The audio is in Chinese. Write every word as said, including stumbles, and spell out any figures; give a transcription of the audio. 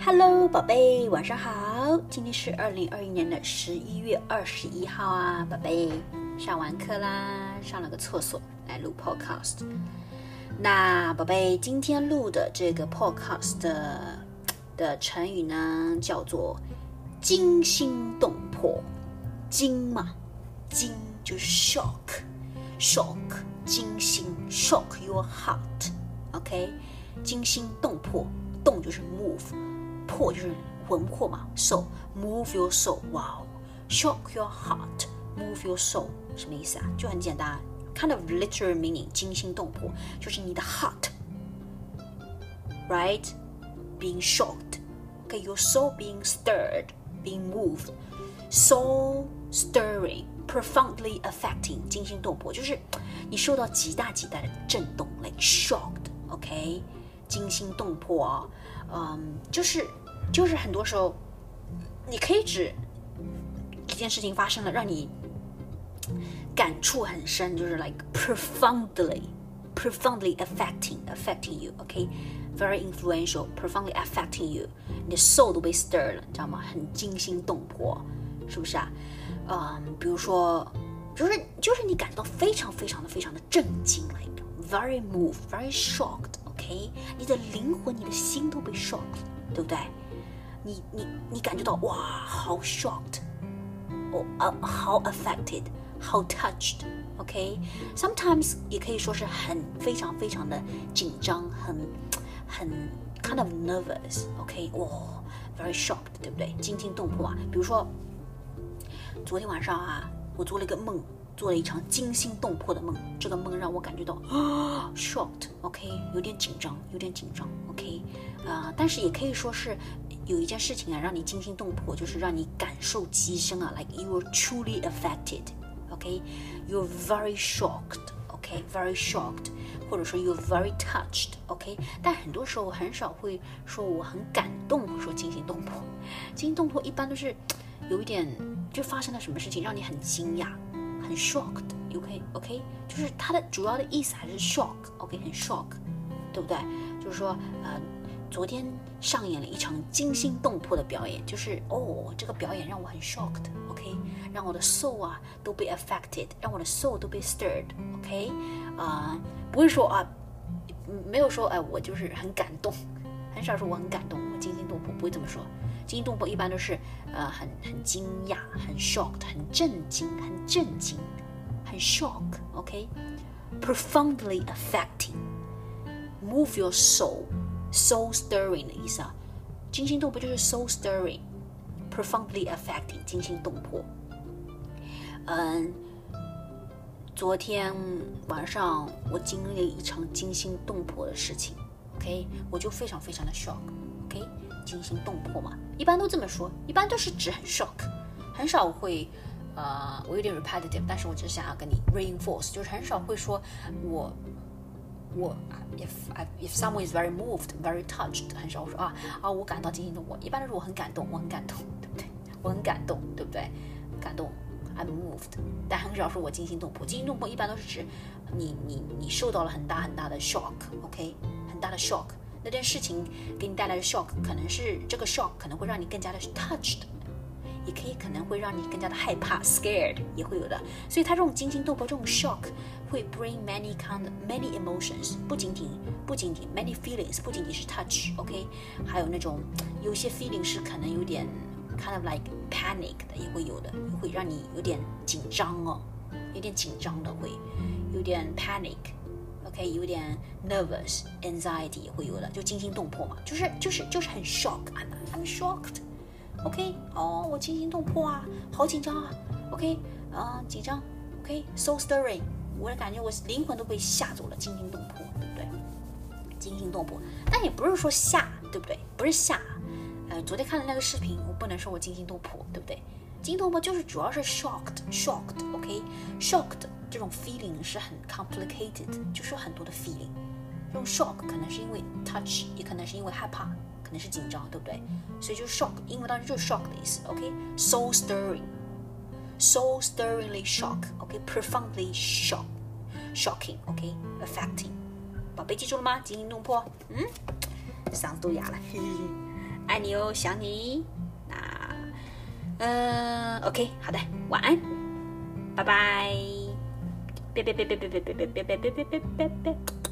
Hello， 宝贝，晚上好。今天是二零二一年的十一月二十一号啊，宝贝，上完课啦，上了个厕所来录 podcast。那宝贝，今天录的这个 podcast 的, 的成语呢，叫做惊心动魄。惊嘛，惊就是 shock，shock， 惊心 ，shock your heart。OK， 惊心动魄，动就是 move。魄就是魂魄嘛 ，soul move your soul， 哇、wow. shock your heart move your soul 什么意思啊？就很简单 ，kind of literal meaning， 惊心动魄就是你的 heart right being shocked， okay your soul being stirred being moved soul stirring profoundly affecting 惊心动魄就是你受到极大极大的震动 like shocked OK 惊心动魄啊，嗯，就是就是很多时候，你可以指一件事情发生了，让你感触很深，就是 like profoundly, profoundly affecting, affecting you, OK, very influential, profoundly affecting you， 你的 soul 都被 stirred 了，你知道吗？很惊心动魄，是不是啊？嗯，比如说，就是就是你感到非常非常的非常的震惊 ，like very moved, very shocked。OK， 你的灵魂、你的心都被 shocked， 对不对？你你你感觉到哇，好 shocked， 哦、oh, 呃，好 affected， 好 touched。OK，sometimes、okay? 也可以说是很非常非常的紧张，很很 kind of nervous。OK， 哇、oh, ，very shocked， 对不对？惊心动魄啊。比如说，昨天晚上啊，我做了一个梦。做了一场惊心动魄的梦，这个梦让我感觉到啊 shocked，OK， 有点紧张，有点紧张 ，OK， 啊、呃，但是也可以说是有一件事情啊，让你惊心动魄，就是让你感受极深啊 ，like you are truly affected，OK，you're、okay? very shocked，OK，very、okay? shocked， 或者说 you're very touched，OK，、okay? 但很多时候很少会说我很感动，说惊心动魄，惊心动魄一般都是有一点就发生了什么事情让你很惊讶。很 shocked， OK OK， 就是它的主要的意思还是 shock，OK， 很 shock， 对不对？就是说，呃，昨天上演了一场惊心动魄的表演，就是哦，这个表演让我很 shocked，OK， 让我的 soul 啊都被 affected， 让我的 soul 都被 stirred，OK， 啊、呃，不会说啊，没有说哎、呃，我就是很感动，很少说我很感动，我惊心动魄，不会这么说。惊心动魄一般都是呃很很惊讶，很 shocked， 很震惊，很震惊，很 shock，OK，profoundly affecting，move your soul，soul stirring 的意思啊。惊心动魄就是 soul stirring，profoundly affecting， 惊心动魄。嗯，昨天晚上我经历了一场惊心动魄的事情 ，OK， 我就非常非常的 shock，OK。惊心动魄嘛，一般都这么说，一般都是指很 shock， 很少会，呃，我有点 repetitive， 但是我只是想要跟你 reinforce， 就是很少会说我我 if if someone is very moved, very touched， 很少说啊啊我感到惊心动魄，一般都是我很感动，我很感动，对不对？我很感动，对不对？感动 ，I'm moved， 但很少说我惊心动魄。惊心动魄一般都是指你你你受到了很大很大的 shock，OK，、okay? 很大的 shock。那件事情给你带来的 shock， 可能是这个 shock 可能会让你更加的 touched， 也可以可能会让你更加的害怕 scared， 也会有的。所以它这种惊心动魄，这种 shock 会 bring many kind of, many emotions， 不仅仅不仅仅 many feelings， 不仅仅是 touch，OK，、okay? 还有那种有些 feeling 是可能有点 kind of like panic 的，也会有的，会让你有点紧张哦，有点紧张的会有点 panic。OK， 有点 nervous, anxiety 也会有的，就惊心动魄嘛，就是就是就是很 shock, I'm, I'm shocked, OK， 哦，我惊心动魄啊，好紧张啊 ，OK， 啊、呃，紧张 ，OK， soul stirring， 我的感觉我灵魂都被吓走了，惊心动魄，对不对？惊心动魄，但也不是说吓，对不对？不是吓，呃，昨天看的那个视频，我不能说我惊心动魄，对不对？惊心动魄就是主要是 shocked, shocked, OK, shocked。这种 feeling 是很 complicated， 就是很多的 feeling。这种 shock 可能是因为 touch， 也可能是因为害怕，可能是紧张，对不对？所以就是 shock， 英文当中就是 shock 的意思。OK，soul stirring，soul stirringly shock。OK，profoundly shock，shocking。OK，affecting。宝贝记住了吗？惊心动魄。嗯，嗓子都哑了。嘿嘿嘿。 爱你哦，想你。那，嗯 ，OK， 好的，晚安，拜拜。别别别别别别别别别别别别别别别。